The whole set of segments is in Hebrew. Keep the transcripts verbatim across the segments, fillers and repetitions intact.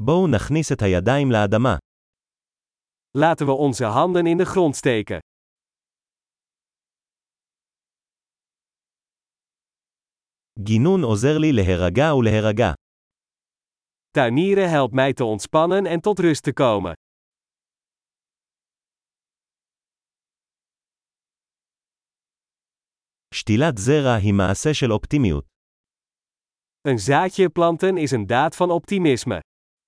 בואו נכניס את הידיים לאדמה. Laten we onze handen in de grond steken. גינון עוזר לי להירגע ולהירגע. Tuinieren helpt mij te ontspannen en tot rust te komen. שתילת זרע היא מעשה של אופטימיות. Een zaadje planten is een daad van optimisme.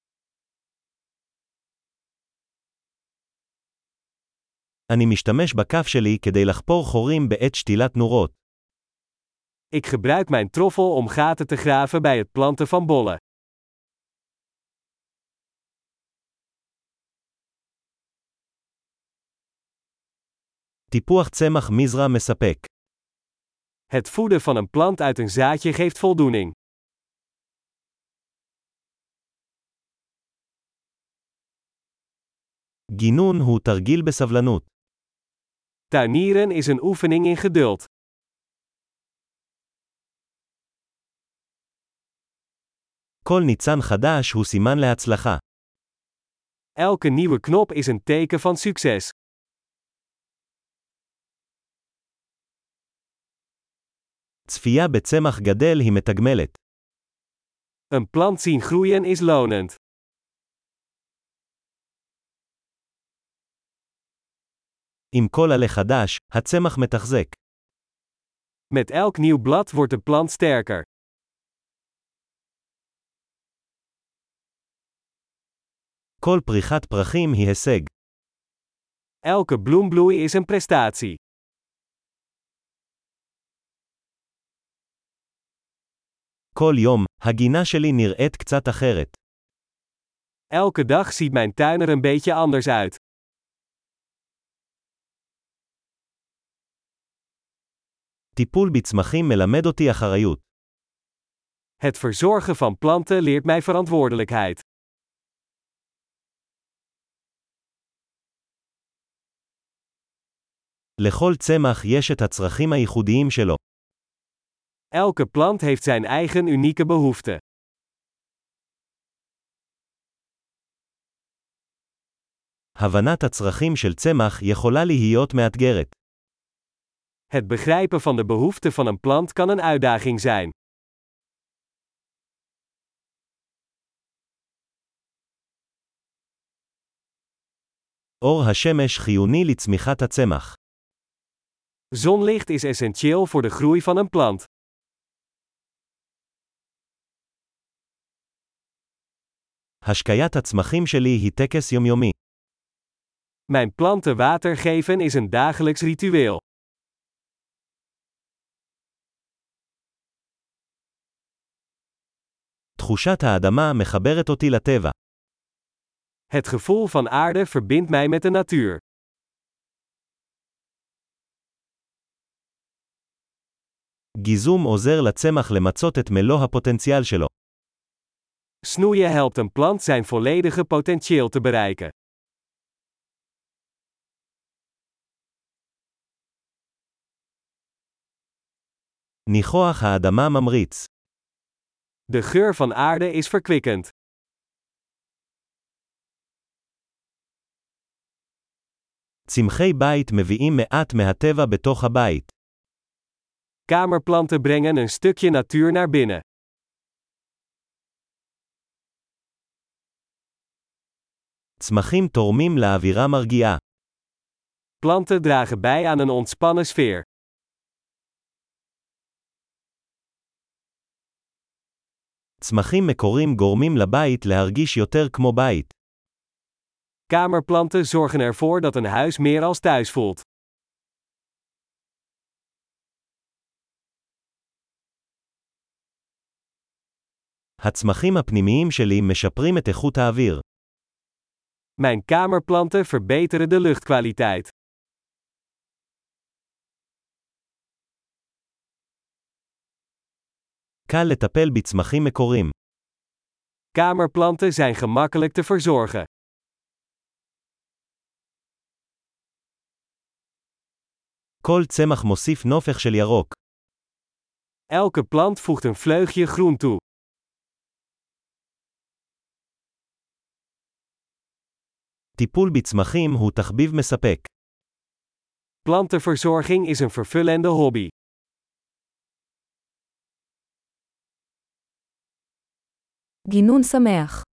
אני משתמש בכף שלי כדי לחפור חורים בעת שתילת נורות. Ik gebruik mijn troffel om gaten te graven bij het planten van bollen. טיפוח צמח מזרע מספק. Het voeden van een plant uit een zaadje geeft voldoening. גינון הוא תרגיל בסבלנות. Tuinieren is een oefening in geduld. כל ניצן חדש הוא סימן להצלחה. Elke nieuwe knop is een teken van succes. צפייה בצמח גדל היא מתגמלת. Een plant zien groeien is lonend. עם כל עלה חדש, הצמח מתחזק. Met elk nieuw blad wordt de plant sterker. כל פריחת פרחים היא הישג. Elke bloembloei is een prestatie. כל יום, הגינה שלי נראית קצת אחרת. Elke dag ziet mijn tuin er een beetje anders uit. טיפול בצמחים מלמד אותי אחריות. Het verzorgen van planten leert mij verantwoordelijkheid. לכל צמח יש את הצרכים הייחודיים שלו. Elke plant heeft zijn eigen unieke behoeften. הבנת הצרכים של צמח יכולה להיות מאתגרת. Het begrijpen van de behoeften van een plant kan een uitdaging zijn. אור השמש חיוני לצמיחת הצמח. Zonlicht is essentieel voor de groei van een plant. השקיית הצמחים שלי היא טקס יומיומי. Mijn planten water geven is een dagelijks ritueel. תחושת האדמה מחברת אותי לטבע. Het gevoel van aarde verbindt mij met de natuur. גיזום עוזר לצמח למצות את מלוא הפוטנציאל שלו. Snoeien helpt een plant zijn volledige potentieel te bereiken. ניחוח האדמה ממריץ. De geur van aarde is verkwikkend. צמחי בית מביאים מעט מהטבע בתוך הבית. Kamerplanten brengen een stukje natuur naar binnen. צמחים תורמים לאווירה מרגיעה. Planten dragen bij aan een ontspannen sfeer. צמחים מקוריים גורמים לבית להרגיש יותר כמו בית. Kamerplanten zorgen ervoor dat een huis meer als thuis voelt. הצמחים הפנימיים שלי משפרים את איכות האוויר. Mijn kamerplanten verbeteren de luchtkwaliteit. קל לטפל בצמחים מקוריים. Kamerplanten zijn gemakkelijk te verzorgen. כל צמח מוסיף נופך של ירוק. Elke plant voegt een vleugje groen toe. טיפול בצמחים הוא תחביב מספק. Plantenverzorging is een vervullende hobby. גינון שמח.